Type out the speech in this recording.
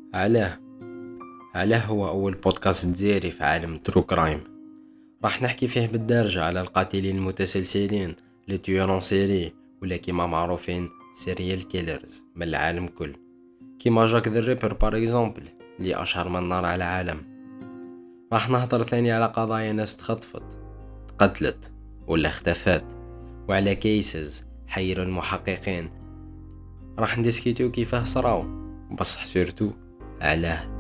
علاه هو أول بودكاست ديالي في عالم ترو كرايم. راح نحكي فيه بالدارجة على القاتلين المتسلسلين لي تيورون سيري، ولا كيما معروفين سيريال كيلرز من العالم كل، كيما جاك ذا ريبر بار اكزامبل اللي أشهر من نار على العالم. راح نهضر ثاني على قضايا ناس تخطفت، تقتلت ولا اختفت، وعلى كيسز حيروا المحققين. راح ندسكيتو كيفاه صراو، بصح سورتو علاه.